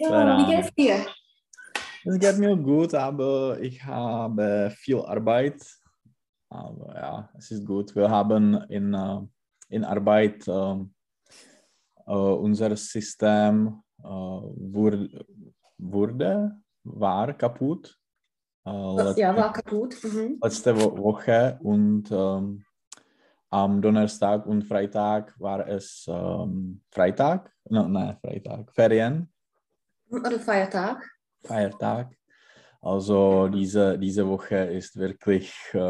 wie geht's dir? Es geht mir gut, aber ich habe viel Arbeit. Aber ja, es ist gut. Wir haben in Arbeit unser System war kaputt. War kaputt. Letzte Woche und am Donnerstag und Freitag war es Freitag. Ferien. Oder Feiertag. Feiertag. Also diese Woche ist wirklich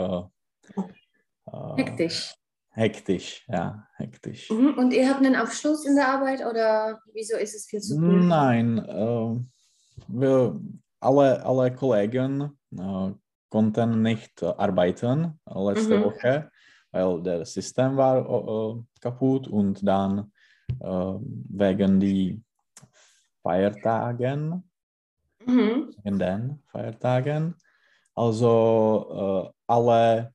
Hektisch. Hektisch, ja, hektisch. Und ihr habt einen Abschluss in der Arbeit oder wieso ist es viel zu tun? Nein, wir alle Kollegen konnten nicht arbeiten letzte Woche, weil das System war kaputt und dann wegen die Feiertagen. In den Feiertagen. Also alle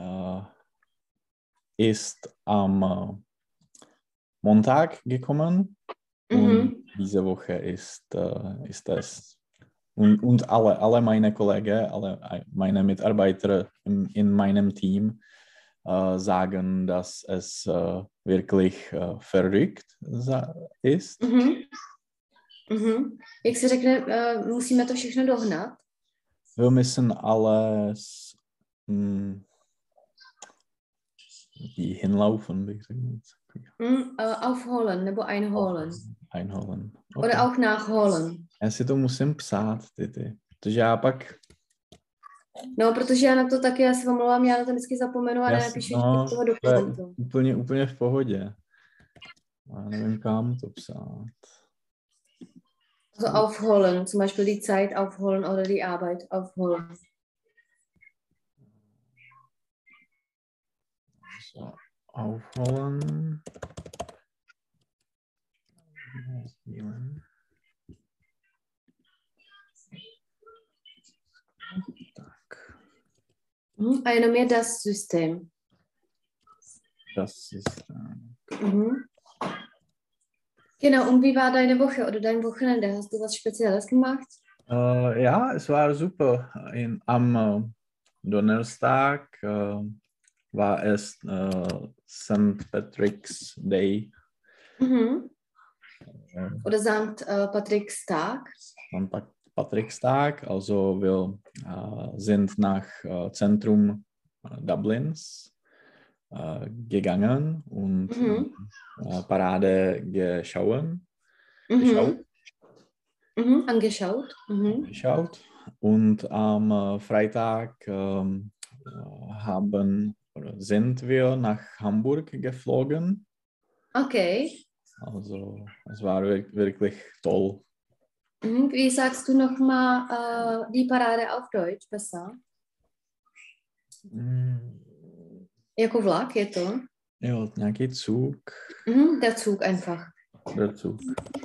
ist am Montag gekommen und diese Woche ist es. Und alle meine Kollegen, alle meine Mitarbeiter in meinem Team sagen, dass es wirklich verrückt ist. Jak se řekne, musíme to všechno dohnat? Wir müssen alles hinlaufen, bych řekl. Aufholen nebo einholen. Einholen. Okay. Oder auch nachholen. Já si to musím psát, ty. Protože já pak... No, protože já na to taky, já se omlouvám, já na to vždycky zapomenu a nenapíšu toho dokumentu. Úplně v pohodě. Já nevím, kam to psát. Also aufholen, zum Beispiel die Zeit aufholen oder die Arbeit aufholen. So, aufholen. Tak. A jenom je das System. Das System. Genau, und wie war deine Woche oder dein Wochenende? Hast du was Spezielles gemacht? Ja, es war super. Am Donnerstag war es St. Patrick's Day. Oder St. Patrick's Tag. St. Patrick's Tag, also wir sind nach Zentrum Dublins gegangen und Parade angeschaut. Und am Freitag sind wir nach Hamburg geflogen. Okay. Also es war wirklich toll. Wie sagst du nochmal die Parade auf Deutsch besser? Jako vlak je to? Jo, nějaký Zug. Der Zug einfach. Der Zug.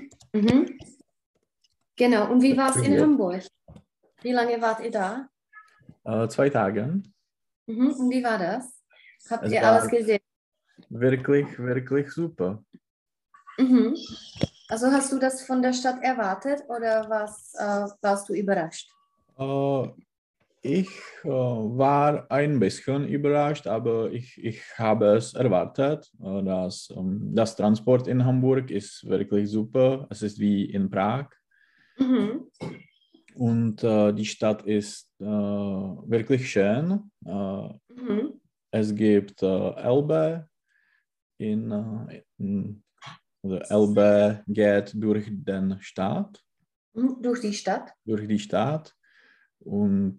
Genau, und wie war es in Hamburg? Wie lange wart ihr da? 2 Tage. Und wie war das? Habt ihr alles gesehen? Wirklich super. Also hast du das von der Stadt erwartet oder warst du überrascht? Ich war ein bisschen überrascht, aber ich habe es erwartet. Das Transport in Hamburg ist wirklich super. Es ist wie in Prag. Und die Stadt ist wirklich schön. Es gibt Elbe. Elbe geht durch den Stadt. Durch die Stadt? Durch die Stadt. Und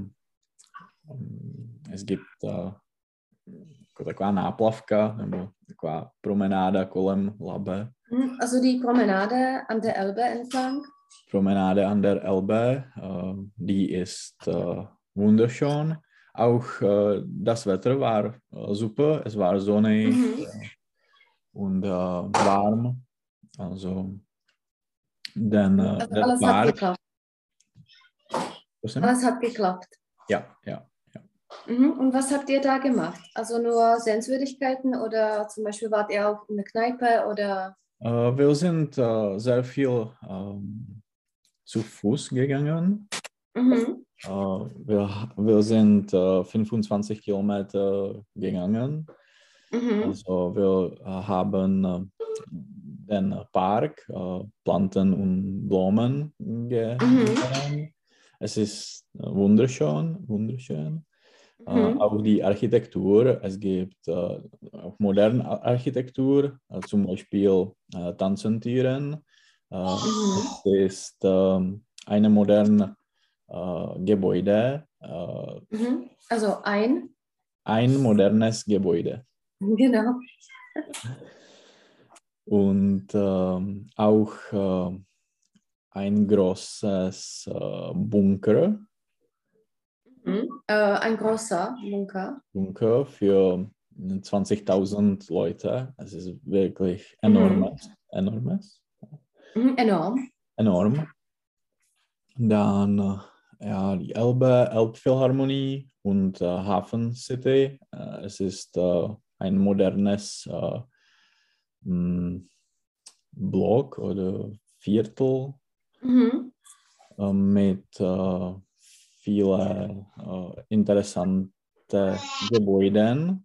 es gibt taková náplavka nebo taková promenáda kolem Labe. Also die Promenade an der Elbe entlang? Promenade an der Elbe, die ist wunderschön. Auch das Wetter war super, es war sonnig und warm. Also alles hat geklappt. Alles hat geklappt. Ja. Und was habt ihr da gemacht? Also nur Sehenswürdigkeiten oder zum Beispiel wart ihr auch in der Kneipe oder? Wir sind sehr viel zu Fuß gegangen. Mhm. Wir sind 25 Kilometer gegangen. Mhm. Also wir haben den Park, Planten und Blumen gesehen. Es ist wunderschön. Auch die Architektur, es gibt auch moderne Architektur, zum Beispiel Tanzentüren. Es ist eine moderne Gebäude. Also Ein modernes Gebäude. Genau. Und auch ein großes Bunker. Ein großer Bunker. Bunker für 20.000 Leute. Es ist wirklich enormes. Enorm. Enorm. Dann ja, die Elbphilharmonie und Hafen City. Es ist ein modernes Block oder Viertel mit vielen interessanten Gebäuden.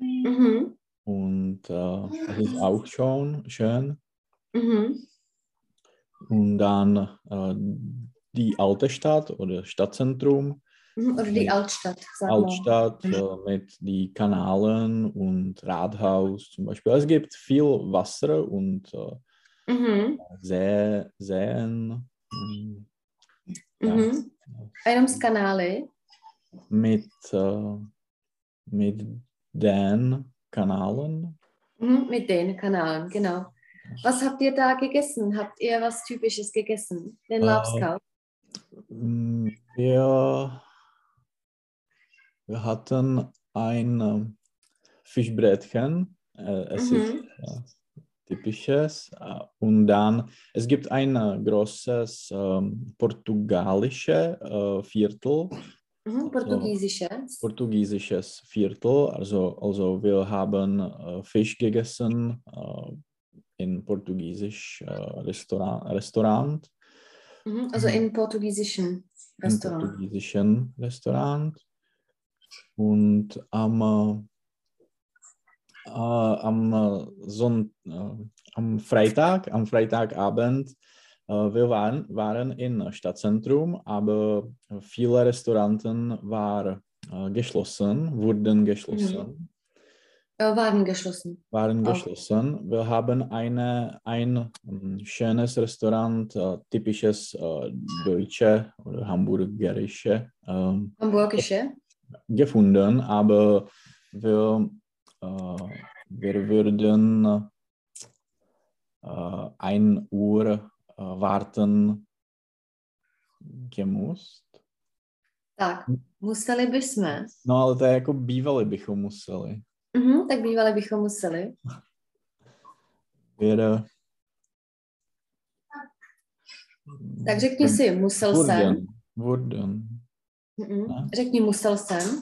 Und es ist auch schon schön. Und dann die alte Stadt oder Stadtzentrum. Oder die Altstadt, sag Altstadt mit die Kanalen und Rathaus zum Beispiel. Es gibt viel Wasser und Seen. Ja. Einungskanäle. Mit den Kanalen. Mit den Kanalen, genau. Was habt ihr da gegessen? Habt ihr was Typisches gegessen? Den Lapskaus? Wir hatten ein Fischbrätchen. Es ist typisches. Und dann, es gibt ein großes portugiesisches Viertel. Portugiesisches Viertel. Also wir haben Fisch gegessen in portugiesisch Restaurant. Also im portugiesischen Restaurant. Im portugiesischen Restaurant. Und am Freitagabend, wir waren im Stadtzentrum, aber viele Restaurants wurden geschlossen. Waren geschlossen. Wir haben ein schönes Restaurant, typisches deutsche oder hamburgerische gefunden, aber wir würden 1 Uhr warten gemusst. Tak, museli bychom. No ale to je jako bývali bychom museli. Tak bývali bychom museli. Tak řekni si, musel jsem. Řekni, musel jsem.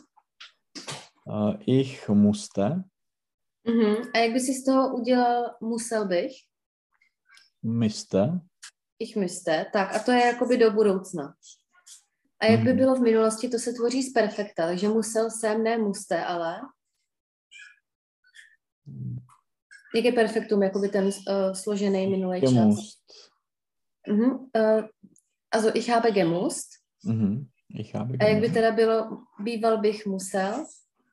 Ich musste. A jak by si z toho udělal musel bych? Müsste. Ich müsste. Tak a to je jakoby do budoucna. A jak by bylo v minulosti, to se tvoří z perfekta. Takže musel jsem, ne musste, ale... Jak je perfektum, jakoby ten složený minulý čas? Also ich habe gemusst. Ich habe gemusst. A jak by teda bylo, býval bych musel?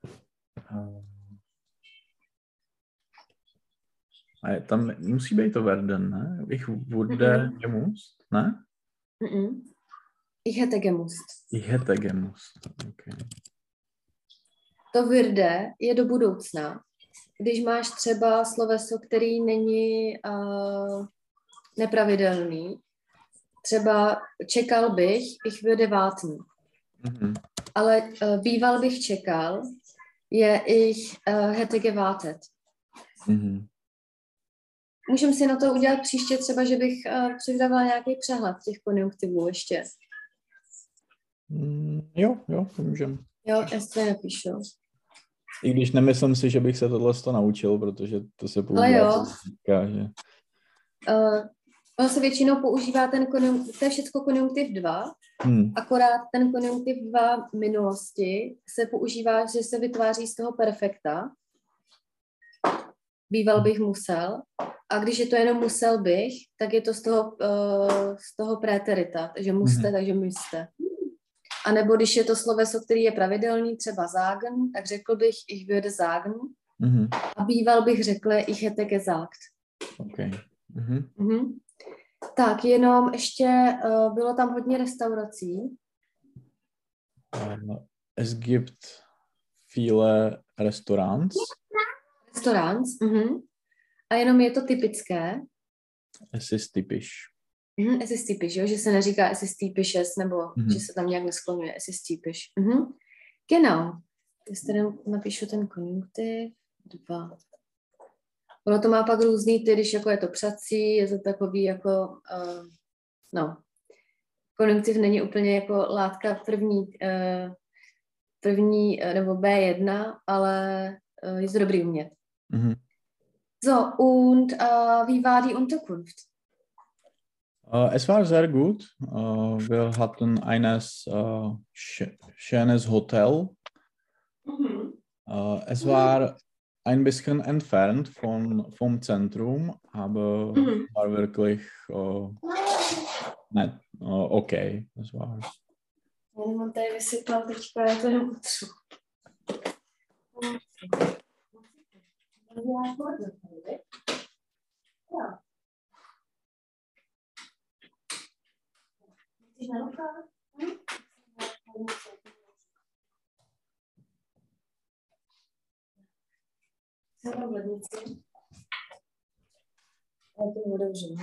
A tam musí být to werden, ne? Ich wurde gemusst, ne? Ich hätte gemusst. Ich hätte gemusst, okay. To würde je do budoucna. Když máš třeba sloveso, který není nepravidelný, třeba čekal bych, ich würde warten. Ale býval bych čekal, je ich hätte gewartet. Můžeme si na to udělat příště třeba, že bych přidávala nějaký přehled těch konjunktivů ještě. Jo, můžeme. Jo, já si to napíšu. I když nemyslím si, že bych se tohle naučil, protože to se používá. Ale jo. Říká, že... Ono se většinou používá ten konjunktiv, to je všechno konjunktiv 2, akorát ten konjunktiv 2 minulosti se používá, že se vytváří z toho perfekta. Býval bych musel. A když je to jenom musel bych, tak je to z toho préterita, takže muste, takže müste. A nebo když je to sloveso, který je pravidelný, třeba sagen, tak řekl bych ich würde sagen. A býval bych řekl ich hätte gesagt. Okay. Tak, jenom ještě bylo tam hodně restaurací. Es gibt viele Restaurants. A jenom je to typické. Es ist typisch. Es ist typisch, jo? Že se neříká es ist typisches, nebo že se tam nějak neskloňuje. Es ist typisch. Genau. Když tady napíšu ten konjunktiv 2. Ono to má pak různý ty, když jako je to přací, je to takový jako, konjunktiv není úplně jako látka první nebo B1, ale je to dobrý umět. So, und wie war die Unterkunft? Es war sehr gut. Wir hatten eines schönes Hotel. Es war ein bisschen entfernt vom Zentrum, aber war wirklich nett, okay. Das war. Jenom on tady vysypal teďka, já to jenom utřu. Jsem v lednici. Já to otevřu.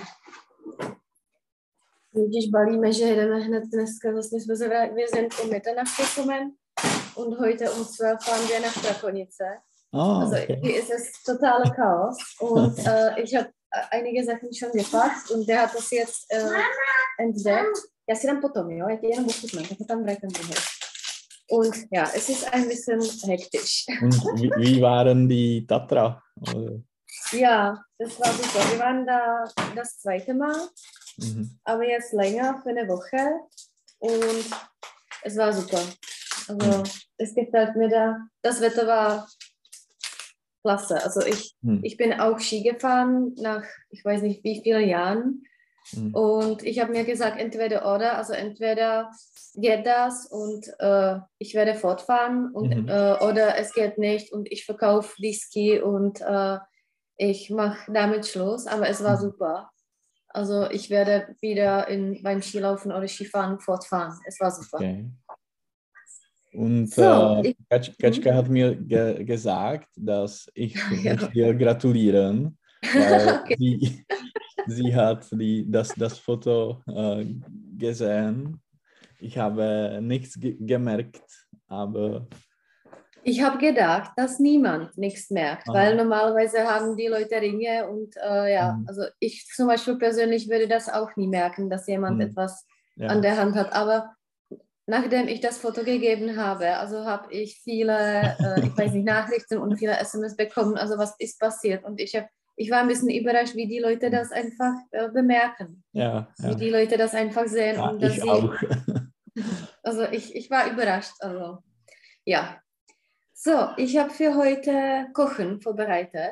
Když balíme, že jedeme hned dneska, vlastně jsme se wir sind um Mitternacht gekommen und heute um 12 fahren wir nach Strakonice. Also hier ist es totaler Chaos und ich habe einige Sachen schon gepackt und der hat das jetzt entdeckt. Já si dám potom, jo? Já ti jenom ochutnám, tak tam vrátím do hry. Und ja, es ist ein bisschen hektisch. Und wie waren die Tatra? Ja, das war super. Wir waren da das zweite Mal, aber jetzt länger für eine Woche und es war super. Also es gefällt mir da. Das Wetter war klasse. Also ich bin auch Ski gefahren nach, ich weiß nicht wie vielen Jahren. Und ich habe mir gesagt, entweder oder, also entweder geht das und ich werde fortfahren und, oder es geht nicht und ich verkaufe die Ski und ich mache damit Schluss, aber es war super. Also ich werde wieder beim Skilaufen oder Skifahren fortfahren. Es war super. Okay. Und so, Katschka hat mir gesagt, dass ich dir gratulieren, weil sie hat das Foto gesehen. Ich habe nichts gemerkt, aber... Ich habe gedacht, dass niemand nichts merkt, weil normalerweise haben die Leute Ringe und also ich zum Beispiel persönlich würde das auch nie merken, dass jemand etwas an der Hand hat, aber nachdem ich das Foto gegeben habe, also habe ich viele, ich weiß nicht, Nachrichten und viele SMS bekommen, also was ist passiert und ich war ein bisschen überrascht, wie die Leute das einfach bemerken, wie die Leute das einfach sehen. Ja, und dass ich auch. Also ich war überrascht, also ja. So, ich habe für heute Kochen vorbereitet.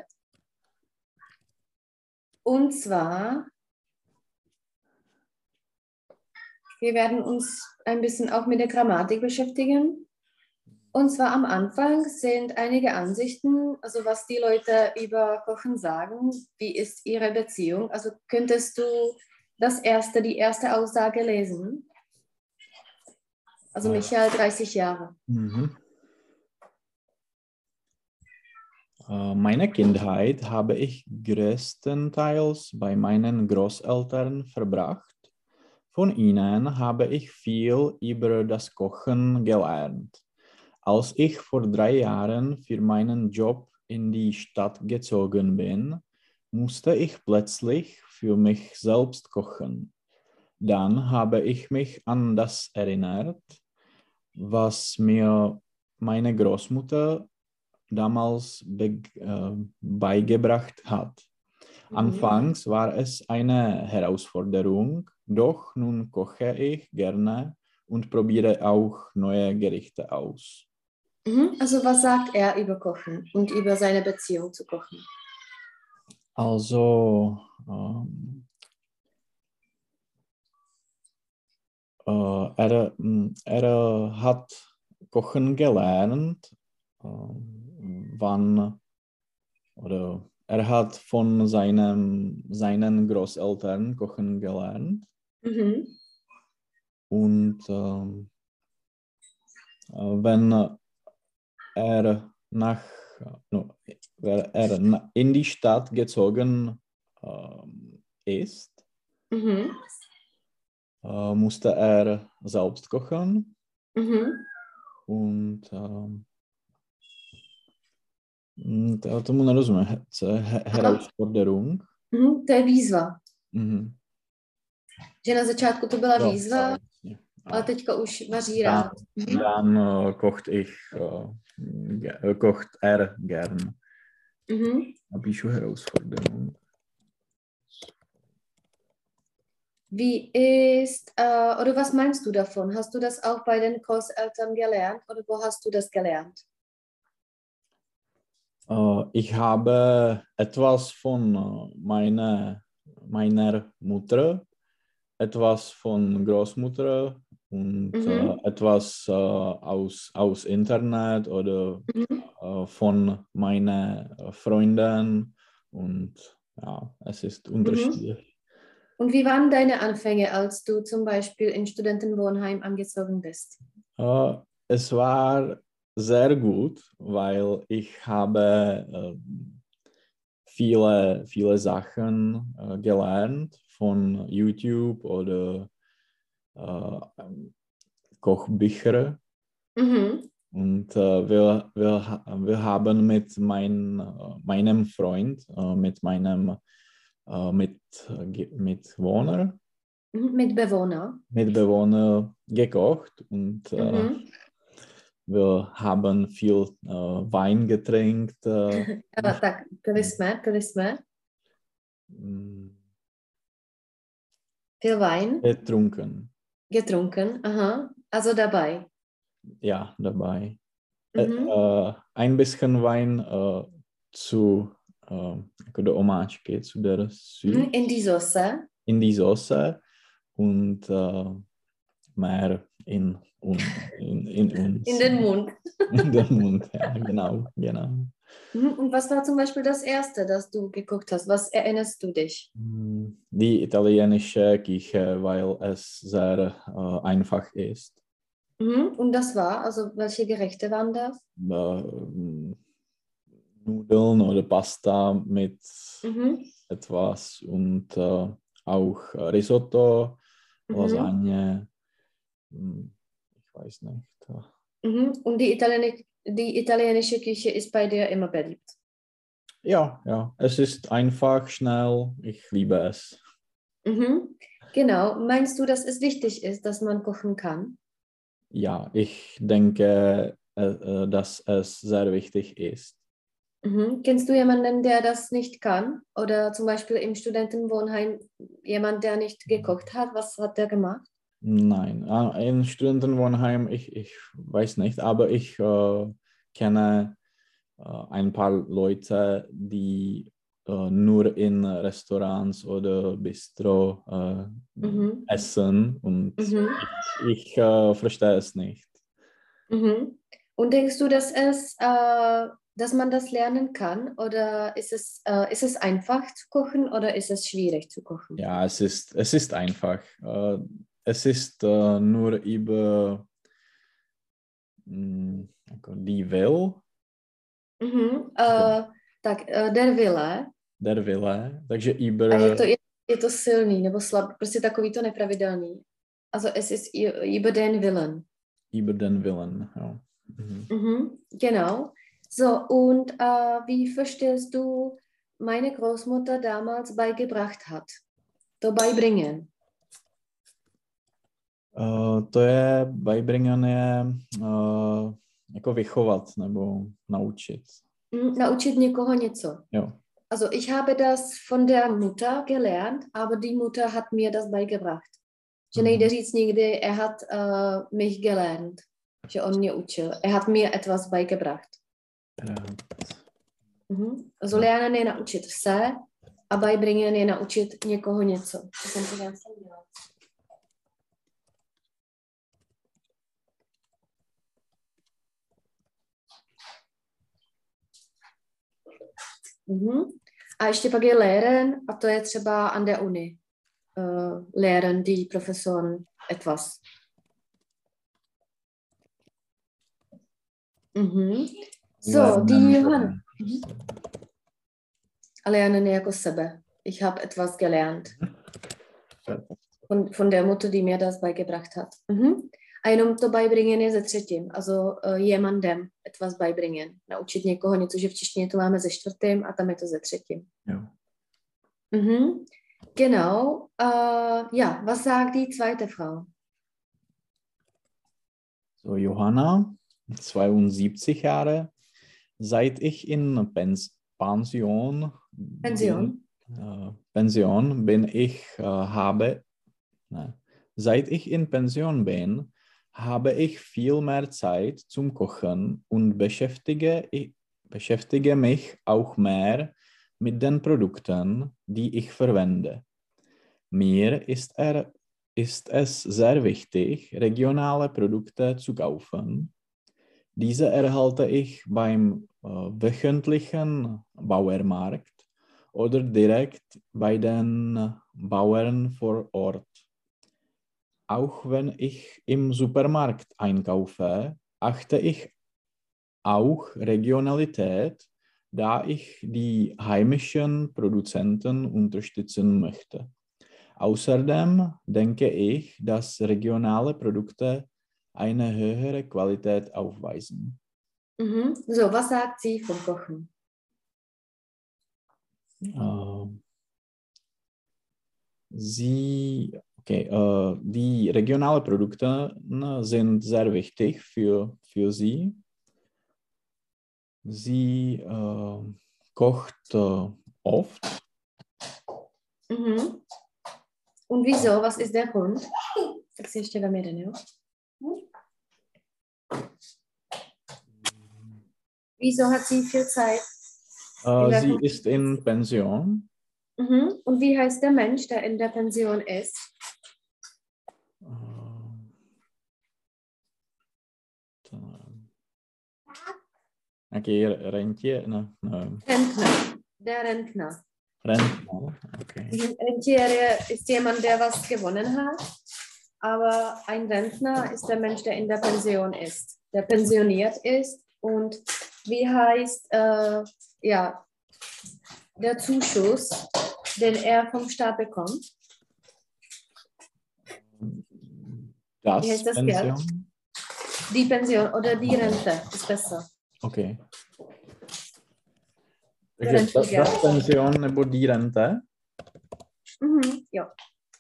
Und zwar, wir werden uns ein bisschen auch mit der Grammatik beschäftigen. Und zwar am Anfang sind einige Ansichten, also was die Leute über Kochen sagen, wie ist ihre Beziehung. Also könntest du die erste Aussage lesen? Also Michael, 30 Jahre. Meine Kindheit habe ich größtenteils bei meinen Großeltern verbracht. Von ihnen habe ich viel über das Kochen gelernt. Als ich vor 3 Jahren für meinen Job in die Stadt gezogen bin, musste ich plötzlich für mich selbst kochen. Dann habe ich mich an das erinnert, was mir meine Großmutter damals beigebracht hat. Anfangs war es eine Herausforderung, doch nun koche ich gerne und probiere auch neue Gerichte aus. Also was sagt er über Kochen und über seine Beziehung zu Kochen? Also er hat kochen gelernt, wann oder er hat von seinen Großeltern kochen gelernt. Und wenn er in die Stadt gezogen ist, musste er selbst kochen. Und tomu nerozumím. Herausforderung. To je výzva. Mhm. Že na začátku to byla výzva, ale teďka už vaří rád. Dann kocht er gern. Napíšu Herausforderung. Wie ist, oder was meinst du davon? Hast du das auch bei den Großeltern gelernt oder wo hast du das gelernt? Ich habe etwas von meiner Mutter, etwas von Großmutter und etwas aus Internet oder von meinen Freunden und ja, es ist unterschiedlich. Und wie waren deine Anfänge, als du zum Beispiel in Studentenwohnheim angezogen bist? Es war sehr gut, weil ich habe viele Sachen gelernt von YouTube oder Kochbücher. Und wir haben mit meinem Freund, mit Mitbewohner gekocht und wir haben viel Wein getrinkt. Tak, pili jsme. Viel Wein? Getrunken, aha. Also dabei? Ja, dabei. Ein bisschen Wein jako do omáčky, zu der Süß. In die Soße? In die Soße und mehr in uns. In den Mund. In den Mund, ja, genau. Und was war zum Beispiel das Erste, das du geguckt hast? Was erinnerst du dich? Die italienische Küche, weil es sehr einfach ist. Und das war, also welche Gerichte waren das? Nudeln oder Pasta mit etwas und auch Risotto, Lasagne, ich weiß nicht. Und die italienische Küche ist bei dir immer beliebt? Ja, es ist einfach, schnell, ich liebe es. Genau, meinst du, dass es wichtig ist, dass man kochen kann? Ja, ich denke, dass es sehr wichtig ist. Kennst du jemanden, der das nicht kann? Oder zum Beispiel im Studentenwohnheim jemand, der nicht gekocht hat? Was hat der gemacht? Nein, im Studentenwohnheim, ich weiß nicht, aber ich kenne ein paar Leute, die nur in Restaurants oder Bistro essen und ich verstehe es nicht. Und denkst du, dass man das lernen kann oder ist es einfach zu kochen oder ist es schwierig zu kochen? Ja, es ist einfach. Es ist nur über die Will. Tak, der Wille. Der Wille, takže über... A je to silný nebo slabý, prostě takový to nepravidelný. Also es ist über den Willen. Über den Willen, ja. Genau. So, und wie verstehst du, meine Großmutter damals beigebracht hat? To beibringen. To je beibringen je jako vychovat nebo naučit. Naučit někoho něco. Jo. Also ich habe das von der Mutter gelernt, aber die Mutter hat mir das beigebracht. Že nejde říct nikdy, hat mich gelernt, že on mě učil. Hat mir etwas beigebracht. Also lernen je naučit se a beibringen je naučit někoho něco. To jsem to zase dělala. A ještě pak je lehren, a to je třeba an der Uni. Lehren die Professoren etwas. So, die Johanna. Lernen jako sebe. Ich habe etwas gelernt. Von der Mutter, die mir das beigebracht hat. A jenom to beibringen je ze třetím. Also jemandem etwas beibringen. Naučit někoho něco, že v češtině to máme ze čtvrtým a tam je to ze třetím. Jo. Genau. Ja, was sagt die zweite Frau? So, Johanna, 72 Jahre. Seit ich in Pension bin, seit ich in Pension bin, habe ich viel mehr Zeit zum Kochen und beschäftige mich auch mehr mit den Produkten, die ich verwende. Mir ist es sehr wichtig, regionale Produkte zu kaufen. Diese erhalte ich beim wöchentlichen Bauernmarkt oder direkt bei den Bauern vor Ort. Auch wenn ich im Supermarkt einkaufe, achte ich auch Regionalität, da ich die heimischen Produzenten unterstützen möchte. Außerdem denke ich, dass regionale Produkte eine höhere Qualität aufweisen. So, was sagt sie vom Kochen? Die regionalen Produkte sind sehr wichtig für sie. Sie kocht oft. Und wieso? Was ist der Grund? Tak si ještě vem jeden, jo? Wieso hat sie viel Zeit? Sie ist in Pension. Und wie heißt der Mensch, der in der Pension ist? Rentier? Rentner. Der Rentner. Rentner, okay. Rentier ist jemand, der was gewonnen hat, aber ein Rentner ist der Mensch, der in der Pension ist, der pensioniert ist. Und wie heißt der Zuschuss, den er vom Staat bekommt? Wie heißt das Pension? Geld? Die Pension oder die Rente ist besser. Okay. Takže das Pension nebo die Rente? Ja.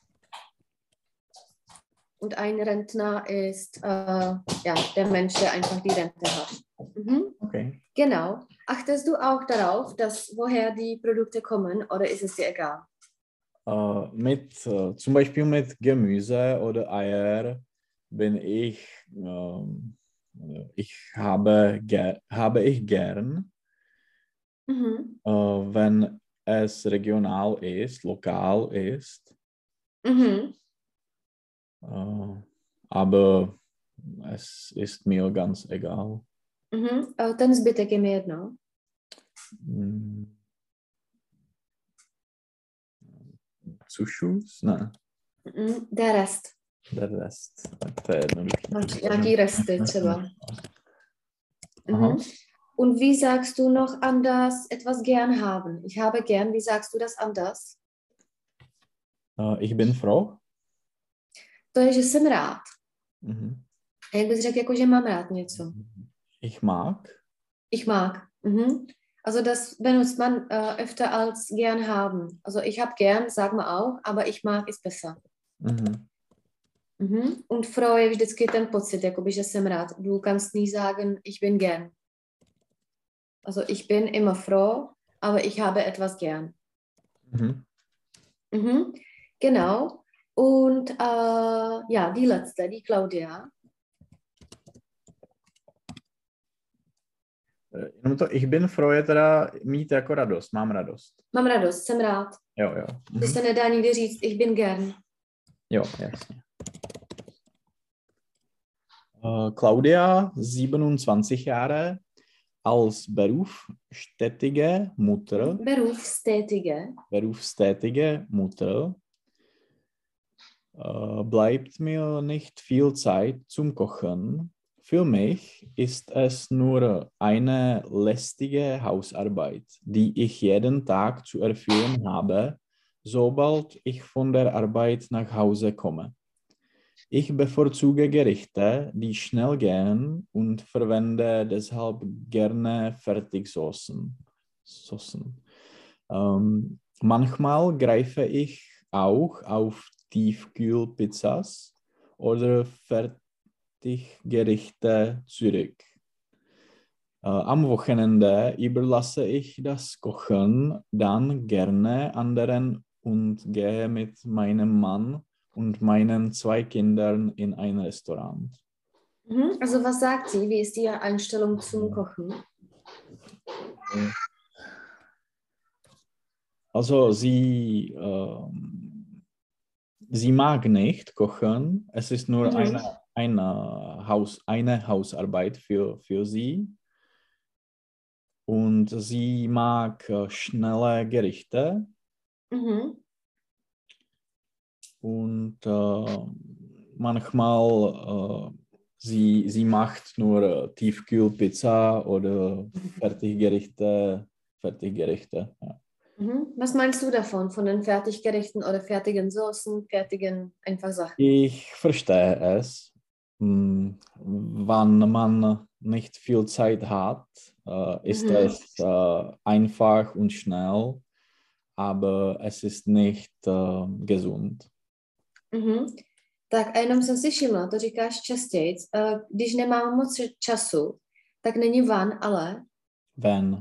Und ein Rentner ist der Mensch, der einfach die Rente hat. Okay. Genau. Achtest du auch darauf, woher die Produkte kommen, oder ist es dir egal? Zum Beispiel mit Gemüse oder Eier bin ich habe ich gern, wenn es regional ist, lokal ist. Aber es ist mir ganz egal. Ten zbytek je mi jedno. Zuschuss? Ne. Der Rest. Der Rest. To je jednoduchý. Nějaký resty třeba. Und wie sagst du noch anders etwas gern haben? Ich habe gern, wie sagst du das anders? Ich bin froh. To je, že jsem rád. A jak bys řekl, jako, že mám rád něco? Ich mag. Ich mag. Also das benutzt man öfter als gern haben. Also ich habe gern, sagen wir auch, aber ich mag ist besser. Und froh je vždycky ten pocit, jakoby, že jsem rád. Du kannst nie sagen, ich bin gern. Also ich bin immer froh, aber ich habe etwas gern. Mhm. Mhm. Genau. Und ja, die letzte, die Claudia. Jenom to, ich bin froh je teda mít jako radost, mám radost. Mám radost, jsem rád. Jo, jo. Když se nedá nikdy říct, ich bin gern. Jo, jasně. Claudia, 27 Jahre, als berufstätige Mutter, berufstätige Mutter bleibt mir nicht viel Zeit zum Kochen. Für mich ist es nur eine lästige Hausarbeit, die ich jeden Tag zu erfüllen habe, sobald ich von der Arbeit nach Hause komme. Ich bevorzuge Gerichte, die schnell gehen und verwende deshalb gerne Fertigsoßen. Manchmal greife ich auch auf Tiefkühlpizzas oder Fertiggerichte zurück. Am Wochenende überlasse ich das Kochen dann gerne anderen und gehe mit meinem Mann und meinen 2 Kindern in ein Restaurant. Also was sagt sie? Wie ist die Einstellung zum Kochen? Also sie mag nicht kochen. Es ist nur eine Hausarbeit für sie. Und sie mag schnelle Gerichte. Und manchmal sie macht nur Tiefkühlpizza oder Fertiggerichte. Ja. Was meinst du davon? Von den Fertiggerichten oder fertigen Soßen, fertigen einfach Sachen? Ich verstehe es. Wenn man nicht viel Zeit hat, ist es einfach und schnell, aber es ist nicht gesund. Tak a jenom jsem si všimla, to říkáš častěji, když nemám moc času, tak není van, ale... Ven.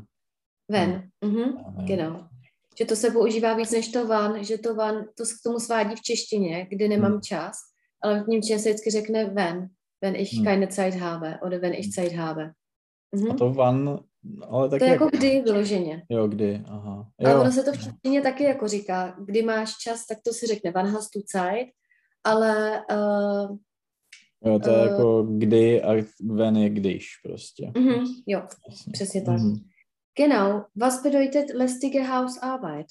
Genau. Že to se používá víc než to van, že to van, to k tomu svádí v češtině, kdy nemám čas, ale v němčině se vždycky řekne wenn ich keine Zeit habe, oder wenn ich Zeit habe. A to van, ale taky... To je jako kdy vyloženě. Jo, kdy, aha. Jo. Ale ono se to v češtině taky jako říká, kdy máš čas, tak to si řekne wann hast du Zeit, ale... jo, to je jako kdy a wenn je když prostě. Jo, přesně tak. Genau. Was bedeutet lästige Hausarbeit?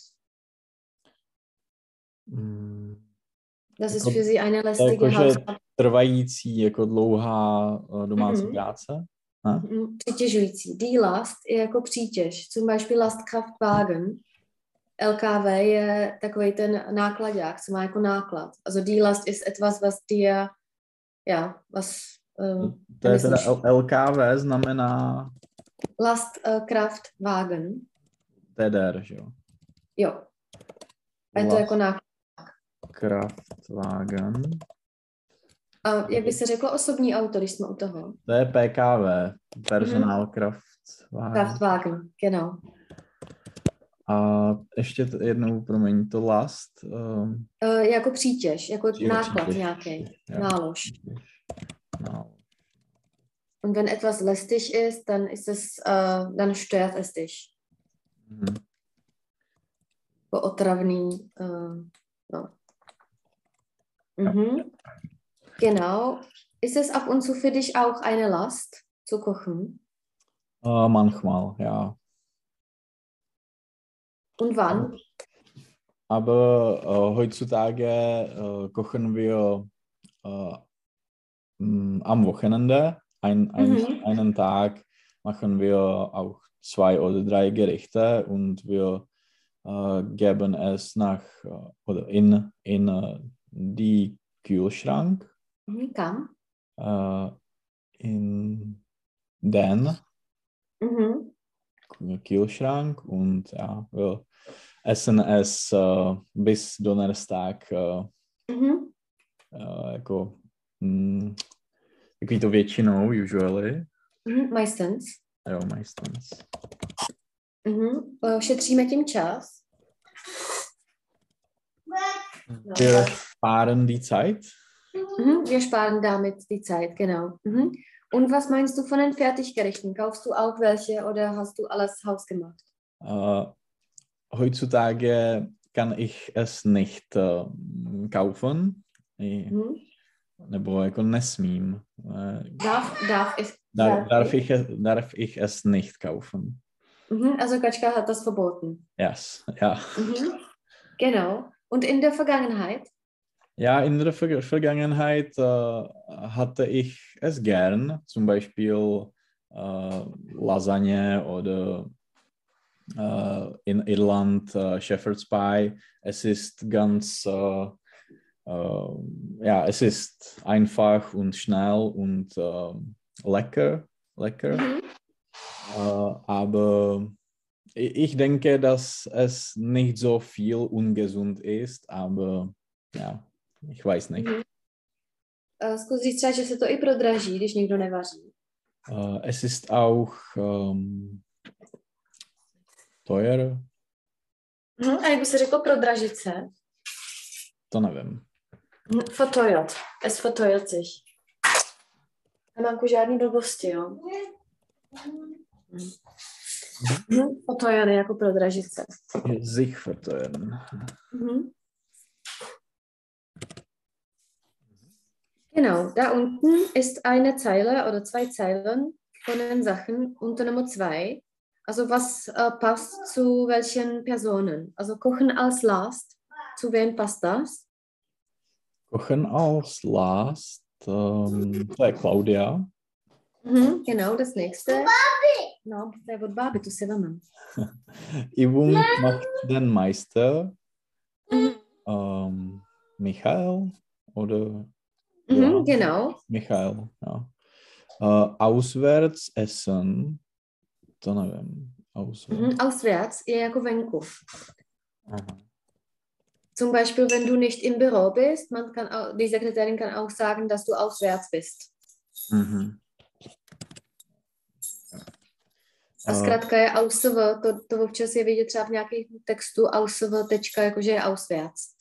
Das ist für Sie eine lästige Hausarbeit. Trvající, jako dlouhá domácí práce. Přitěžující. Die Last je jako přítěž. Zum Beispiel Lastkraftwagen. LKW je takový ten nákladák, co má jako náklad. Also die Last ist etwas, was dir, ja, was... to je teda LKW znamená... Lastkraftwagen. TDR, že jo? Jo. A je to jako náklad. Kraftwagen. A jak by se řeklo osobní auto, když jsme u toho? To je PKW, Personal Kraftwagen. Kraftwagen, genau. A ještě jednou, promiň, to last. Jako přítěž, jako náklad nějaký, nálož. Und wenn etwas lästig ist, dann ist es, dann stört es dich. Otravný, no. Genau. Ist es ab und zu für dich auch eine Last, zu kochen? Manchmal, ja. Und wann? Aber heutzutage kochen wir am Wochenende. Einen Tag machen wir auch 2 oder 3 Gerichte und wir geben es nach oder in die Kühlschrank. Kam? In den Kühlschrank und ja, wir essen es bis Donnerstag jako takový to většinou, usually. Meistens. Jo, meistens. Šetříme tím čas. Wir sparen die Zeit. Wir sparen damit die Zeit, genau. Und was meinst du von den Fertiggerichten? Kaufst du auch welche oder hast du alles hausgemacht? Heutzutage kann ich es nicht kaufen. Nebo jako nesmím. Darf ich es nicht kaufen? Also Katschka hat das verboten. Yes, ja. Genau. Und in der Vergangenheit? Ja, in der Vergangenheit hatte ich es gern, zum Beispiel Lasagne oder in Irland Shepherd's Pie. Es ist ganz, es ist einfach und schnell und lecker. Aber ich denke, dass es nicht so viel ungesund ist, aber ja, ich weiß nicht. Zkus říct třeba, že se to i prodraží, když někdo nevaří. Es ist auch teuer. A jak by se řeklo prodražit se? To nevím. Verteuert. Es verteuert sich. Nemám žádný blbosti, jo? Verteuern jako prodražit se. Sich verteuern. Genau, da unten ist eine Zeile oder 2 Zeilen von den Sachen unter Nummer 2. Also was passt zu welchen Personen? Also Kochen als Last, zu wem passt das? Kochen als Last, to je Claudia. Genau, das nächste. Barbie! No, to je od Barbie, tu si vemem. Übung macht den Meister. Michael oder? Genau. Michael, ja. Auswärts essen, to nevím. Auswärts je jako venku. Zum Beispiel, wenn du nicht im Büro bist, die Sekretärin kann auch sagen, dass du auswärts bist. A zkrátka je AUSV, to občas je vidět třeba v nějakých textu AUSV tečka, jakože je auswärts.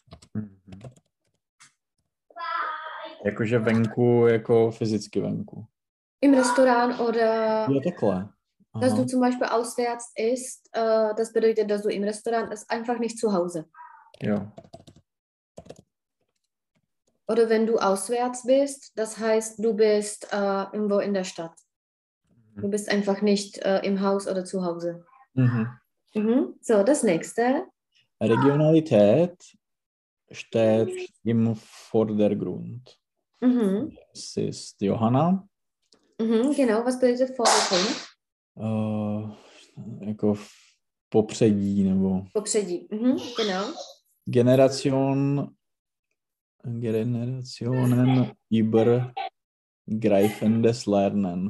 Jakože venku, jako fyzicky venku. Im Restaurant oder... Ja, takhle. Dass du zum Beispiel auswärts isst, das bedeutet, dass du im Restaurant ist, einfach nicht zu Hause. Ja. Oder wenn du auswärts bist, das heißt, du bist irgendwo in der Stadt. Du bist einfach nicht im Haus oder zu Hause. So, das nächste. Regionalität steht im Vordergrund. Es ist Johanna. Genau, was bedeutet Vordergrund? Jako v popředí, nebo... Popředí, genau. Generationen übergreifendes Lernen.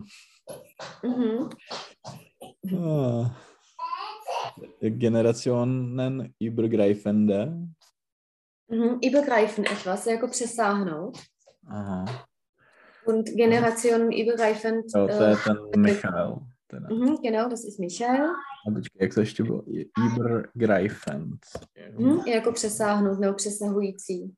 Generationen übergreifende. Übergreifen etwas, jako přesáhnout. Aha. Und Generationen übergreifend. Jo, to je ten Michael. Genau, das ist Michael. A počkej, jak to ještě bylo? Übergreifend. Jako přesáhnout nebo přesahující.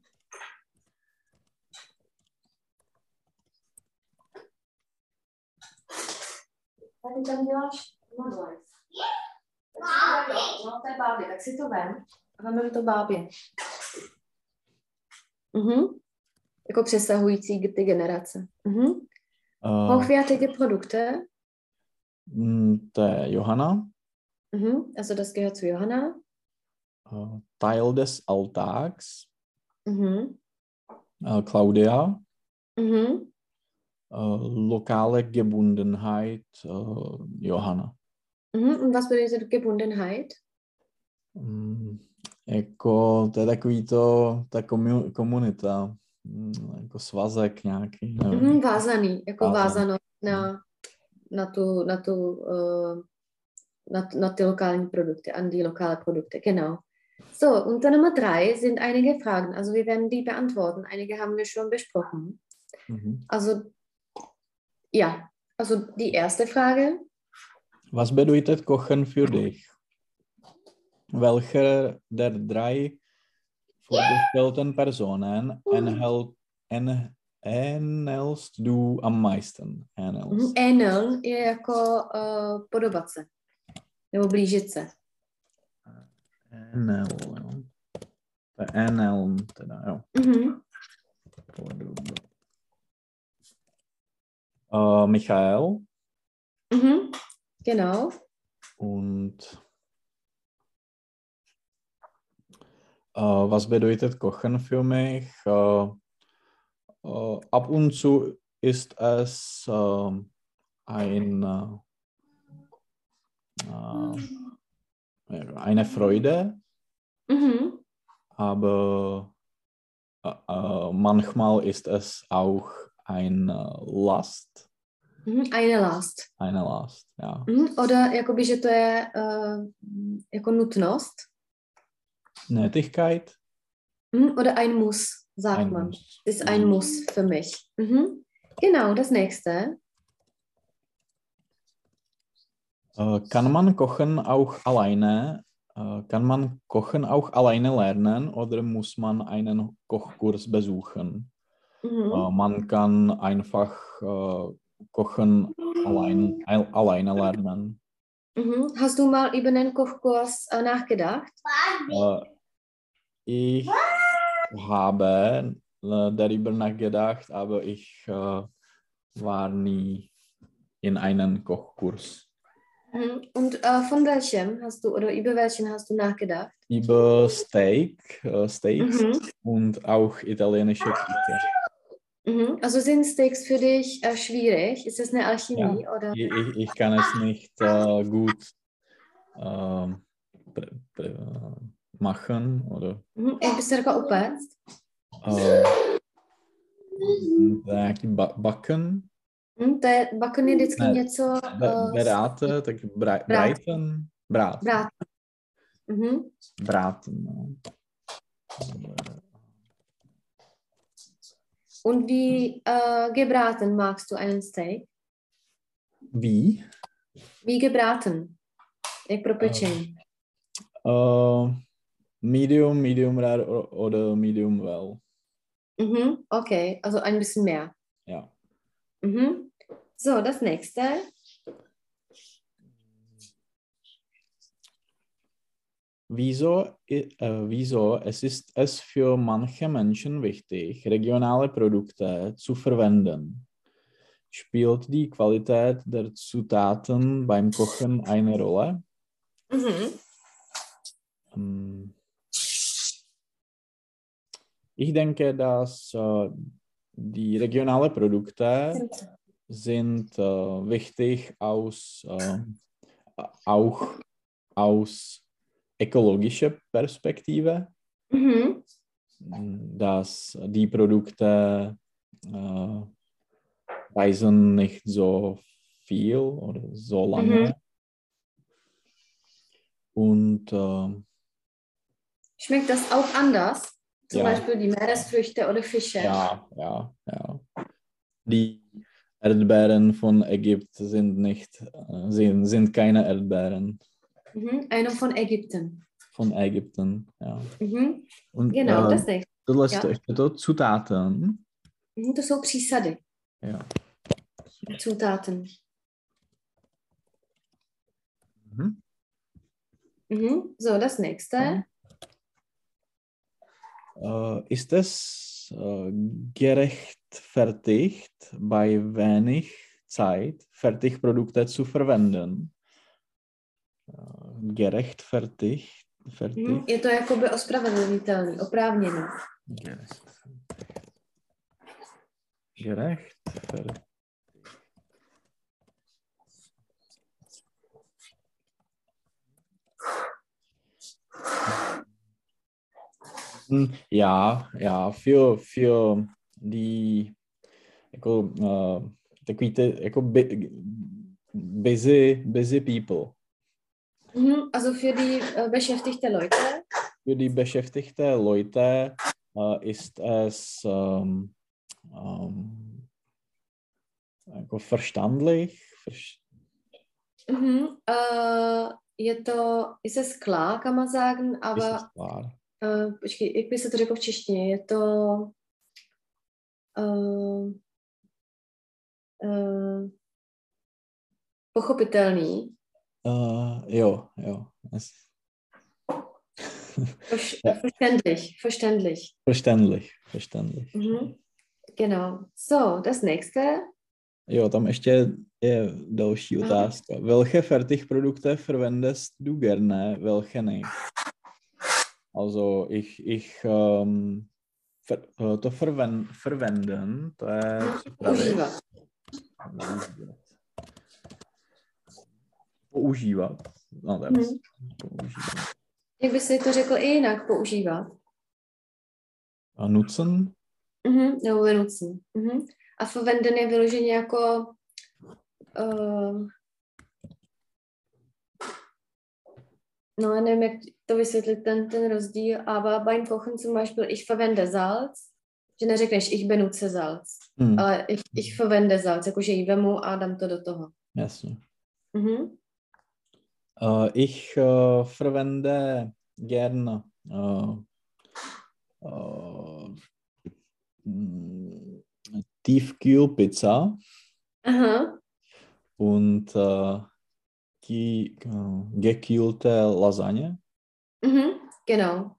Tady tam děláš modlec. No, to je Bábě, tak si to vem a vememe to Bábě. Jako přesahující ty generace. Hochwertige Produkte. To je Johanna. Also das gehört zu Johanna. Teil des Alltags. Claudia. Lokale Gebundenheit. Johanna. Und was bedeutet Gebundenheit? Jako, to je takový to, ta komunita, jako svazek nějaký. Vázaný, jako vázano na ty lokalen Produkte, an die lokale Produkte, genau. So, unter Nummer 3 sind einige Fragen, also wir werden die beantworten, einige haben wir schon besprochen. Also, ja, also die erste Frage. Was bedeutet Kochen für dich? Welcher der drei vorgestellten Personen ähnelst du am meisten? Ähneln je jako podobat se. Nebo blížit se. Ähneln, teda, jo. Michael. Genau. Und was bedeutet Kochen für mich? Ab und zu ist es eine Freude, aber manchmal ist es auch eine Last. Eine Last. Eine Last, ja. Oder jakoby, že to je jako nutnost. Nötigkeit. Oder ein Muss, sagt man. Muss. Ist ein Muss für mich. Genau, das nächste. Kann man Kochen auch alleine? Kann man Kochen auch alleine lernen oder muss man einen Kochkurs besuchen? Man kann einfach Kochen alleine lernen. Hast du mal über einen Kochkurs nachgedacht? Ich habe darüber nachgedacht, aber ich war nie in einem Kochkurs. Und von welchem hast du oder über welchen hast du nachgedacht? Über Steaks und auch italienische Küche. Also sind Steaks für dich schwierig? Ist das eine Alchemie? Ja, oder? ich kann es nicht gut machen. Oder, Jak bys to řekla upéct? Backen. Backen je vždycky něco... Beráte, tak braten. Braten. Braten, no. Und wie gebraten magst du einen Steak? Wie? Wie gebraten? Jak propečený? Medium rare oder medium well. Okay, also ein bisschen mehr. Ja. So, das nächste. Wieso ist es für manche Menschen wichtig, regionale Produkte zu verwenden? Spielt die Qualität der Zutaten beim Kochen eine Rolle? Ich denke, dass die regionalen Produkte sind wichtig auch aus ökologischer Perspektive, dass die Produkte reisen nicht so viel oder so lange. Und schmeckt das auch anders? Zum ja. Beispiel die Meeresfrüchte oder Fische? Ja. Die Erdbeeren von Ägypten sind keine Erdbeeren. Eine von Ägypten. Von Ägypten, ja. Und genau, das nächste. Tohle ještě to Zutaten. To jsou přísady. Ja. Zutaten. So, das nächste. Ist es gerechtfertigt, bei wenig Zeit Fertigprodukte zu verwenden? Gerechtfertigt? Je to jakoby ospravedlnitelný, oprávněný. Gerechtfertigt. Ja, für die jako, takový ty jako busy people. Also für die beschäftigte Leute. Für die beschäftigte Leute ist es jako verständlich. Je to skla, kann man sagen, aber počkej, jak by se to řeklo v češtině? Je to pochopitelný. Jo. Verständlich. Genau. So, das nächste. Jo, tam ještě je další otázka. Welche Fertigprodukte verwendest du gerne, welche nicht? Also, to verwenden, to je používat. No, to je používat. Jak by si to řekl i jinak, používat? A nutzen? Nebo benutzen. A verwenden je vyloženě jako no, já nevím, jak to vysvětlit, ten rozdíl, aber beim Kochen zum Beispiel, ich verwende Salz, že neřekneš, ich benutze Salz, ale ich verwende Salz, jakože ji vemu a dám to do toho. Jasně. Ich verwende gern Tiefkühlpizza und die gekühlte Lasagne. Genau.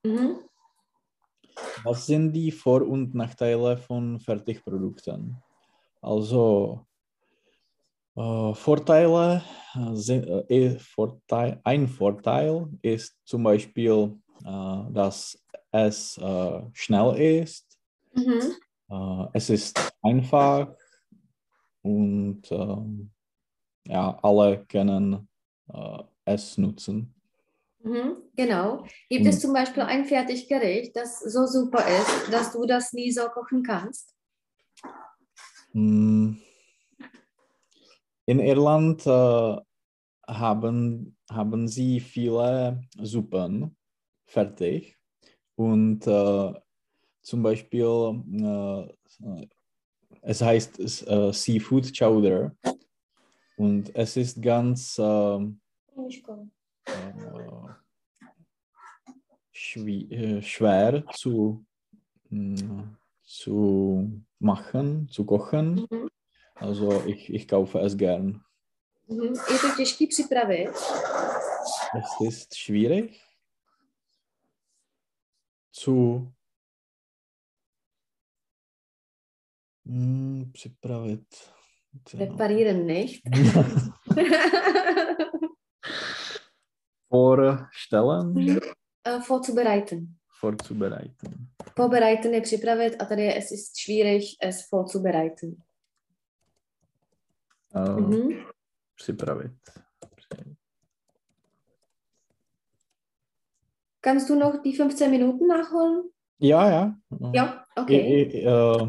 Was sind die Vor- und Nachteile von Fertigprodukten? Also ein Vorteil ist zum Beispiel, dass es schnell ist, es ist einfach und alle können es nutzen. Genau. Gibt es zum Beispiel ein Fertiggericht, das so super ist, dass du das nie so kochen kannst? In Irland haben sie viele Suppen fertig und zum Beispiel es heißt Seafood Chowder und es ist ganz schwer zu machen, zu kochen. Also ich kaufe es gern. Je to těžký připravit? Es ist schwierig zu připravit. Präparieren nicht. Vorstellen? Vorzubereiten. Vorbereiten je připravit a tady je es ist schwierig, es vorzubereiten. Připravit. Kannst du noch die 15 Minuten nachholen? Ja. Ja, okay.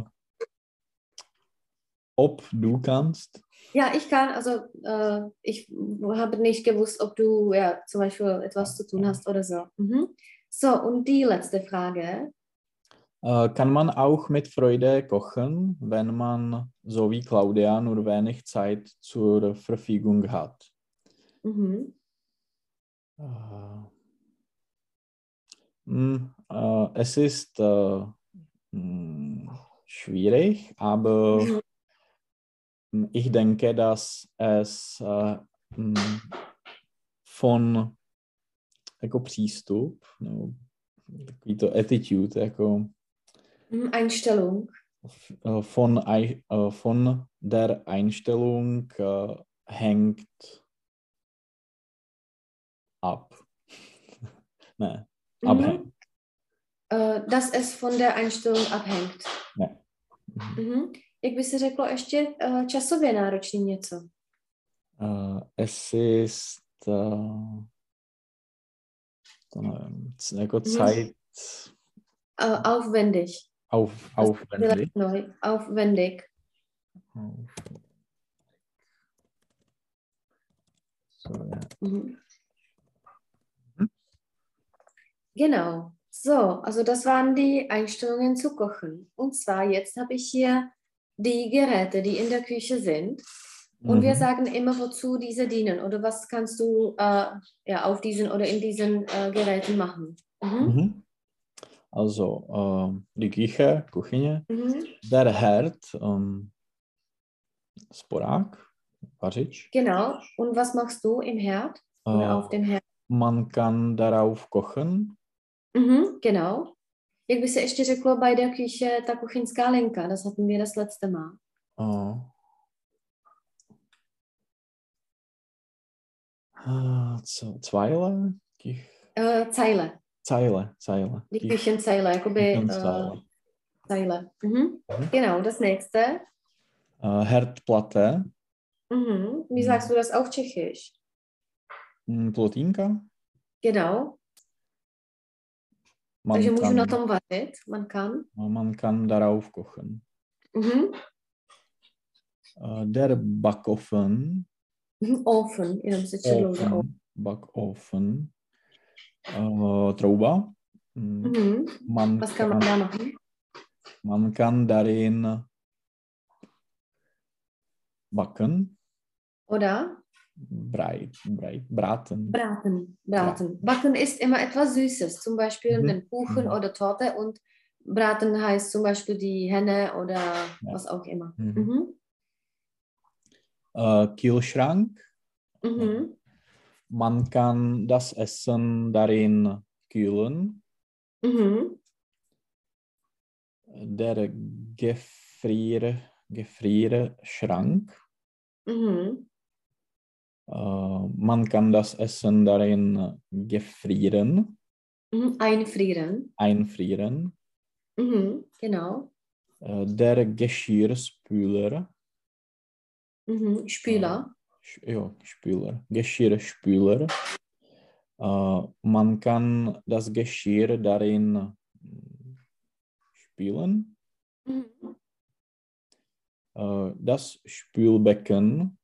Ob du kannst? Ja, ich kann. Also ich habe nicht gewusst, ob du zum Beispiel etwas zu tun hast oder so. So, und die letzte Frage. Kann man auch mit Freude kochen, wenn man, so wie Claudia, nur wenig Zeit zur Verfügung hat? Es ist schwierig, aber ich denke, dass es von jako přístup, no, takový to attitude, jako Einstellung. Von der Einstellung hängt ab. Ne, abhängt. Dass es von der Einstellung abhängt. Ne. Jak by se řeklo ještě časově náročný něco? Es ist to nevím, jako Zeit. Aufwendig. Aufwendig. Aufwendig. So, ja. Genau. So, also das waren die Einstellungen zu kochen. Und zwar jetzt habe ich hier die Geräte, die in der Küche sind. Und wir sagen immer, wozu diese dienen oder was kannst du auf diesen oder in diesen Geräten machen. Also die Küche, der Herd, sporák, vařič. Genau. Und was machst du im Herd oder auf dem Herd? Man kann darauf kochen. Genau. Jak by se ještě řeklo bei der Küche, ta kuchyňská linka, das hatten wir das letzte Mal. Zeile? Zeile. Die Küchenzeile, jakoby Zeile. Genau, das nächste. Herdplatte. Wie sagst du das auf Tschechisch? Plotínka. Genau. Takže můžu na tom vařit, man kann darauf kochen. Der Backofen. Ofen, jenom se četlo. Backofen. Trouba. Was kann man da machen? Man kann darin backen. Oder? Braten. Backen ist immer etwas Süßes, zum Beispiel den Kuchen oder Torte, und Braten heißt zum Beispiel die Henne oder was auch immer. Kühlschrank. Man kann das Essen darin kühlen. Der Gefrierschrank. Man kann das Essen darin gefrieren. Einfrieren. Genau. Der Geschirrspüler. Spüler. Spüler. Geschirrspüler. Man kann das Geschirr darin spülen. Das Spülbecken.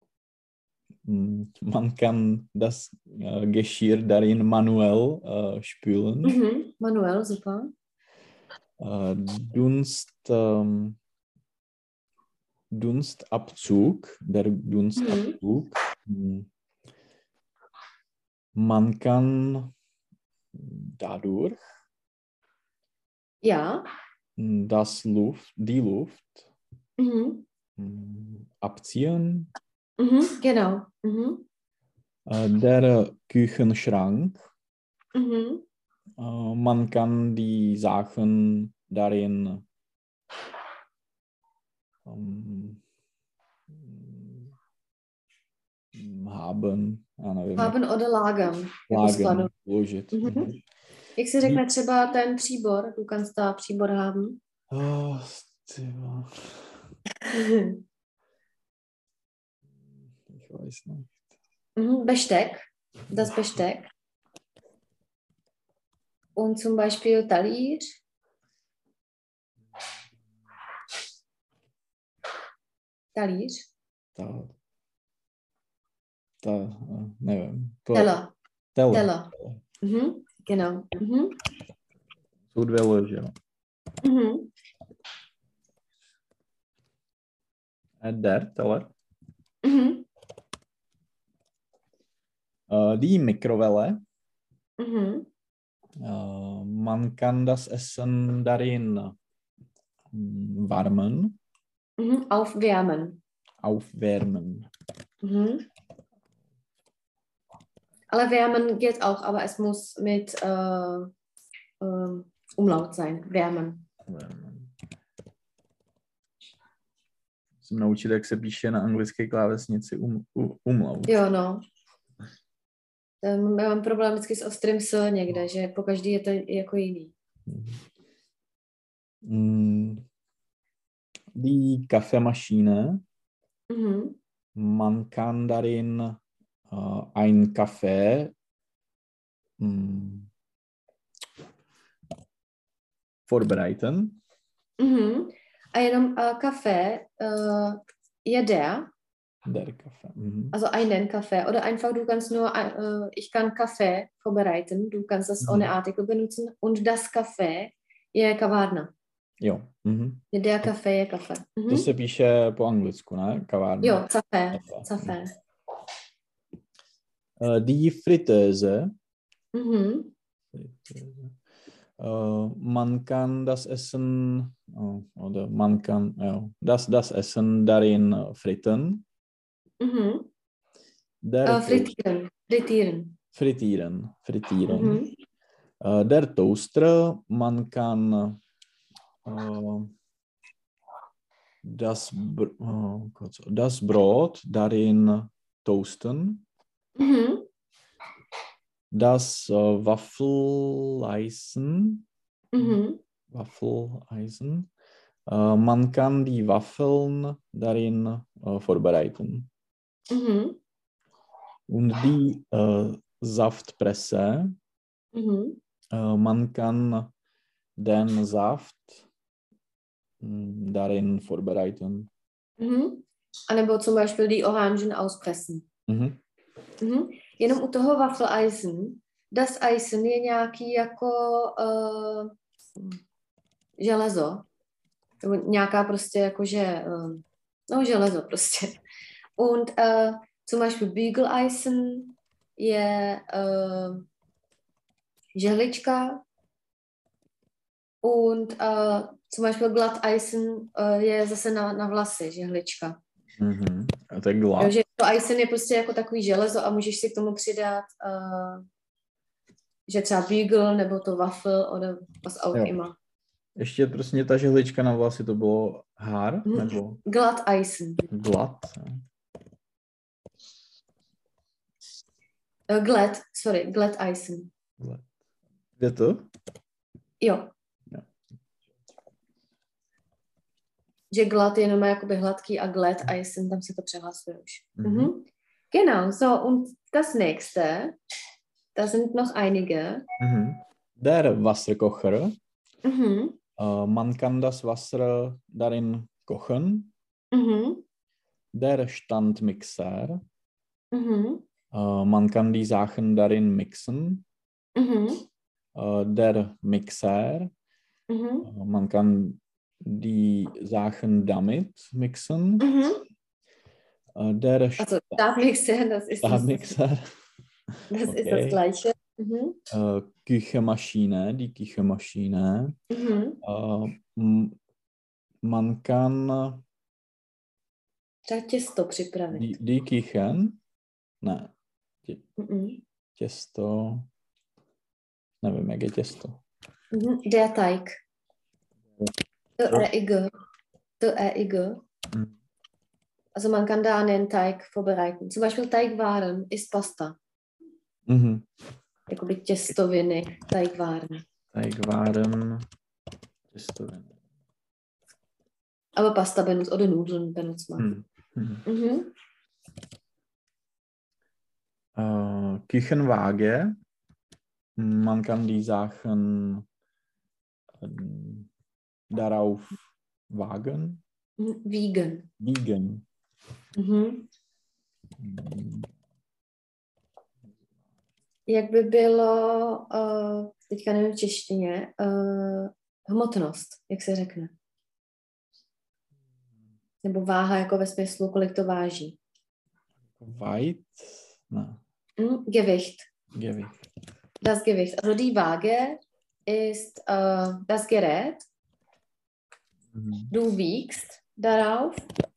Man kann das Geschirr darin manuell spülen. Manuell, super. Dunstabzug, der Dunstabzug. Man kann dadurch die Luft abziehen. Genau. Der Küchenschrank. Man kann die Sachen darin haben oder lagern. Ložit. Jak se řekne třeba ten příbor? Du kannst da příbor haben. Ich weiß nicht. Besteck. Das Besteck. Und zum Beispiel Talíř. Talíř. Nevím. Teller. Teller. Genau. Jsou dvě lože. Der Teller. Die Mikrowelle. Man kann das Essen darin warmen. Aufwärmen. Ale wärmen geht auch, aber es muss mit Umlaut sein. Wärmen. Musím naučit, jak se píše na anglické klávesnici umlaut. Jo, no. Já mám problém vždycky s ostrým s někde, že po každý je to jako jiný. Die Kaffeemaschine. Man kann darin ein Kaffee vorbereiten. A jenom Kaffee je der Kaffee. Also einen Kaffee. Oder einfach, du kannst nur, ich kann Kaffee vorbereiten. Du kannst das ohne Artikel benutzen. Und das Kaffee je kavárna. Jo. Der Kaffee je kafe. To se píše po anglicku, ne? Kavárna. Jo, Kaffee. Die Fritteuse. Man kann das Essen oder man kann das Essen darin fritten. Frittieren. Der Toaster, man kann das Brot darin toasten. Das Waffeleisen. Man kann die Waffeln darin vorbereiten. Und die Saftpresse. Man kann den Saft darin vorbereiten. A nebo zum Beispiel die Orangen auspressen. Jenom u toho Waffeleisen, das Eisen je nějaký jako železo. Nebo nějaká prostě jakože, železo prostě. Und zum Beispiel Bügeleisen je žehlička. Und zum Beispiel Glatteisen je zase na vlasy, žehlička. A to je glatt. Takže to eisen je prostě jako takový železo a můžeš si k tomu přidat, že třeba Bügel nebo to Waffel oder was auch immer. Ještě prostě ta žehlička na vlasy, to bylo Haar? Nebo? Glatteisen. Glatt. Glatteisen. Je to? Jo. Že glatt je jenom jakoby hladký a Glatteisen, tam se to přehlasuje už. Genau, so und das nächste, da sind noch einige. Der Wasserkocher. Man kann das Wasser darin kochen. Der Standmixer. Man kann die Sachen darin mixen. Der Mixer. Man kann die Sachen damit mixen. Also Stabmixer, das ist Stabmixer. Das ist das Gleiche. Küchenmaschine, die Küchenmaschine. Man kann těsto připravit. Die Küchen? Ne. Těsto. Nevím, jak je těsto. Der Teig. Der Eig. Also man kann da einen Teig vorbereiten. Zum Beispiel Teigwaren ist Pasta. Jakoby těstoviny, Teigwaren. Těstoviny. Aber Pasta benutzt oder Nudeln benutzt man. Küchenwaage. Man kann die Sachen darauf wagen. Wiegen. Jak by bylo, teďka nevím v češtině, hmotnost, jak se řekne? Nebo váha jako ve smyslu, kolik to váží? Weit? Ne. Gewicht. Gewicht. Das Gewicht. Also die Waage ist das Gerät. Du wiegst darauf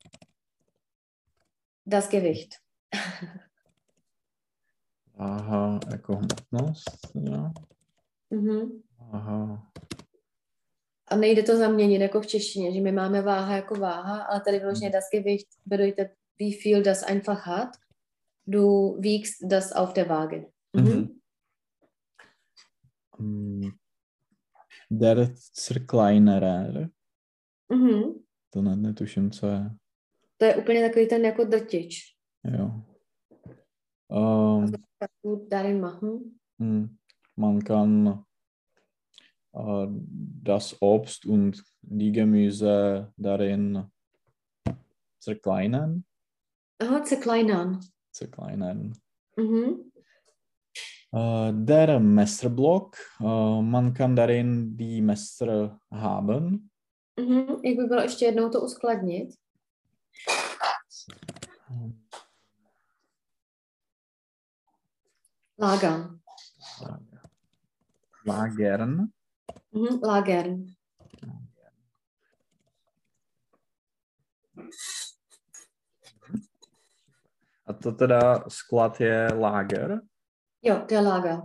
das Gewicht. Váha jako hmotnost, jo. Váha. A nejde to zaměnit jako v češtině, že my máme váha jako váha, ale tady vyloženě das Gewicht bedeutet, wie viel das einfach hat. Du wiegst das auf der Waage. Der Zerkleinerer. To netuším, co je. To je úplně takový ten jako drtič. Jo. Darin machen. Man kann das Obst und die Gemüse darin zerkleinern. Zerkleinern. Der Messerblock. Man kann darin die Messer haben. Jak by bylo ještě jednou to uskladnit? Lagern. Lagern. Lagern. A to teda sklad je Lager? Jo, to je Lager.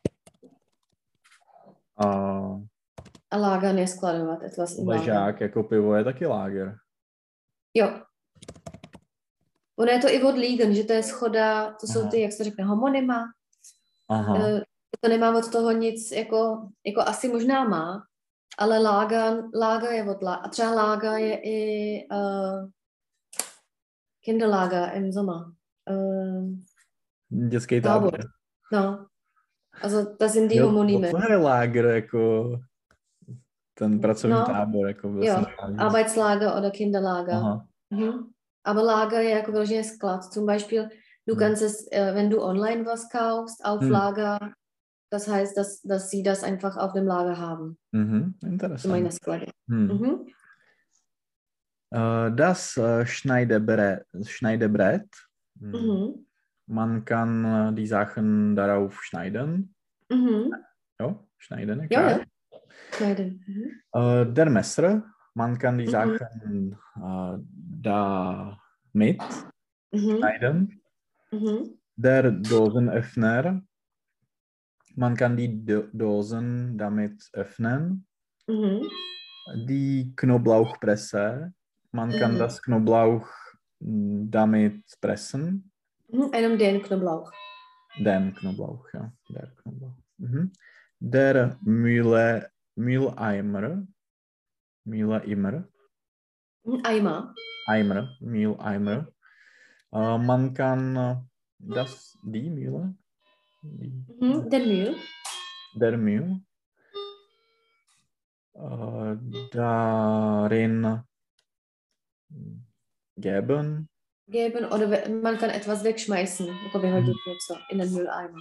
A Lager je skladovat, etwas im Lager. Ležák jako pivo je taky Lager. Jo. Ono je to i od Liegen, že to je schoda, to jsou ty, jak se řekne, homonyma. Aha. To nemá od toho nic, jako asi možná má, ale Lager je od a třeba Lager je i Kinderlager im Sommer. Dětský tábor. No. Also, das sind die Homonyme. To je Lager, jako ten pracovní tábor. Jako jo, Arbeitslager oder Kinderlager. Aber Lager je jako vyloženě sklad. Zum Beispiel, du kannst es, wenn du online was kaufst, auf Lager, das heißt, dass sie das einfach auf dem Lager haben. Interessant. Sklady. Das Schneidebrett. Man kann die Sachen darauf schneiden. Jo, schneiden, ja. Ja. Schneiden. Der Messer, man kann die Sachen damit schneiden. Der Dosenöffner, man kann die Dosen damit öffnen. Die Knoblauchpresse, man kann das Knoblauch damit pressen. Einem den Knoblauch. Den Knoblauch, ja. Der Knoblauch. Der Mülleimer. Mülleimer. Man kann die Mühle. Der Mühl. Darin geben. Oder man kann etwas wegschmeißen, jako vyhodit něco in den Mülleimer.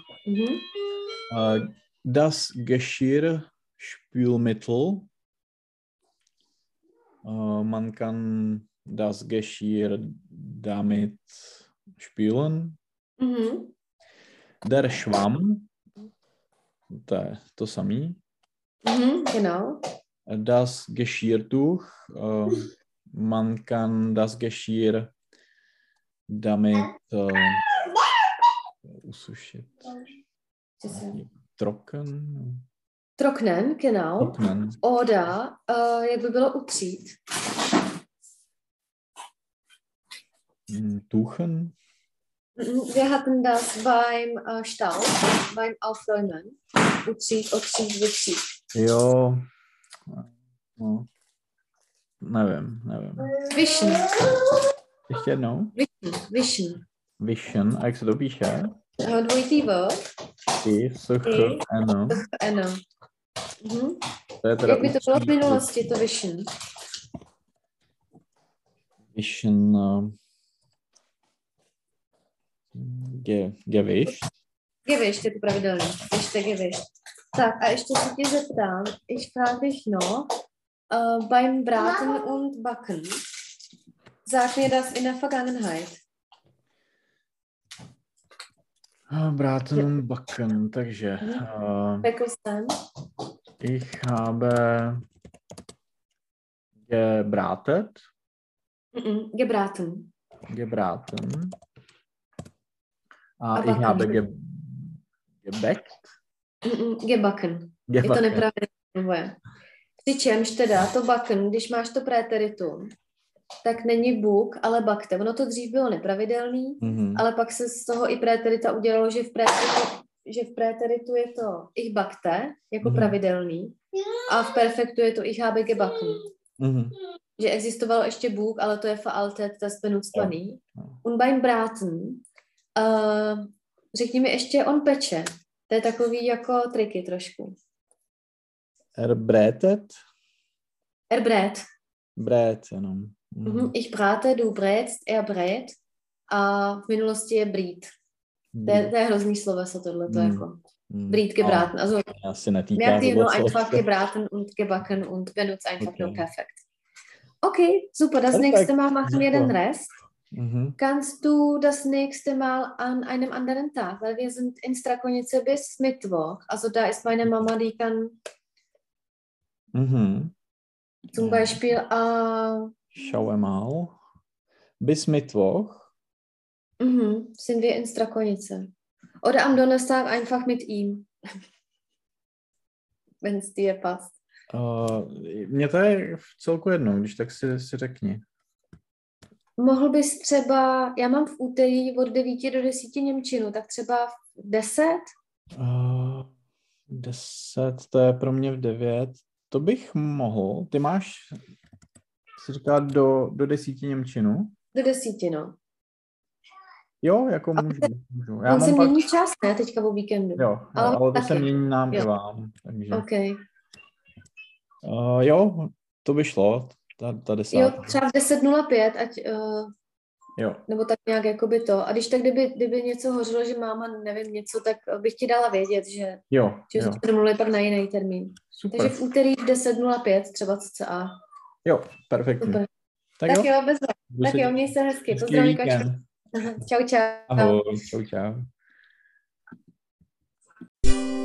Das Geschirrspülmittel. Man kann das Geschirr damit spülen. Der Schwamm. To samý. Genau. Das Geschirrtuch. Man kann das Geschirr damit usušit. Trocknen, genau. Trocknen. Oder, jak by bylo utřít? Tuchen. Wir hatten das beim Staub, beim Aufräumen. Utřít, vytřít. Jo. No. Nevím. Wischen. Ještě jednou? Wischen. A jak se to píše? Dvojitý V. Ano. Jak by to bylo v minulosti, to wischen? Wischen. Gewischt. Gewischt, je to pravidelný. Gewischt. Tak a ještě se tě zeptám, ich frage dich noch, beim Braten und Backen, sag mir das in der Vergangenheit. Braten und Backen, takže ich habe gebraten. Gebraten. A ich habe gebackt. Gebacken. Je to nepravidelné. Přičemž teda to backen, když máš to préteritum, tak není buk, ale bakte. Ono to dřív bylo nepravidelný, ale pak se z toho i préterita udělalo, že v préteritu je to ich bakte, jako pravidelný, a v perfektu je to ich habe gebacken. Že existovalo ještě buk, ale to je veraltet, das benutztvaný. Und beim Braten, řekni mi ještě, on peče. To je takový jako triky trošku. Erbrätet? Brät, jenom. Ich brate, du brätst, brät. A v minulosti je brít. To je hrozný sloveso tohleto, jako. Brít gebraten. Also, asi netýká merkt ihr nur einfach gebraten und gebacken und benutzt einfach nur perfekt. Okay, super. Das Perfekt. nächste Mal machen wir den Super. Rest. Mhm. Kannst du das nächste Mal an einem anderen Tag, weil wir sind in Strakonice bis Mittwoch. Also da ist meine Mama, die kann Mhm. zum Ja. Beispiel Schauen wir mal. Bis Mittwoch. sind wir in Strakonice. Oder am Donnerstag einfach mit ihm, wenn es dir passt. Mně to je v celku jedno, když tak si řekni. Mohl bys třeba, já mám v úterý od 9 do 10 němčinu, tak třeba v 10? 10, to je pro mě v 9. To bych mohl. Ty máš, si říká, do 10 němčinu? Do 10, no. Jo, jako můžu. Já On se mám pak... mění čas, ne, teďka o víkendu. Jo, ale to se mění nám i vám. Takže. Okay. Jo, to by šlo, ta 10. Jo, třeba v 10:05, ať, jo. nebo tak nějak jakoby to. A když tak, kdyby něco hořilo, že máma, nevím, něco, tak bych ti dala vědět, že jsme domluvili pak na jiný termín. Super. Takže v úterý v 10:05 třeba cca. Jo, perfektní. Super. Tak jo, bez vás. Tak jo, měj se hezky. Pozdravuji, Kačku. Čau, čau. Ahoj, čau.